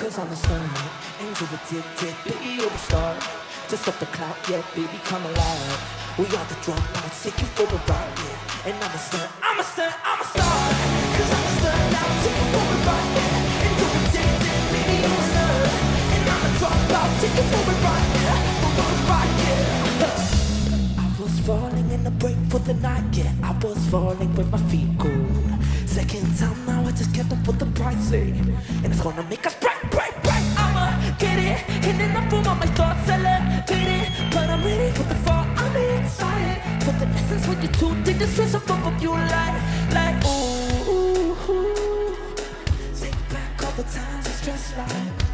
Cause I'm a star, angel addicted, baby, you're a star. Just off the clock, yeah, baby, come alive. We are the dropouts, take you for a ride, yeah. And I'm a star, I'm a star, I'm a star. Cause I'm a star now, take you for a ride, yeah. Angel addicted, baby, you're a star. And I'm a dropout, take you for a ride, yeah. For a ride, yeah. I was falling in the break for the night, yeah. I was falling with my feet cold. Second time now, I just kept up with the pricing. And it's gonna make us break, break, break. I'ma get it, and then I form all my thoughts, elevate it. But I'm ready for the fall, I'm excited. For the essence when you're too deep, the stress of both of you like, ooh, ooh, ooh. Take back all the times I stressed like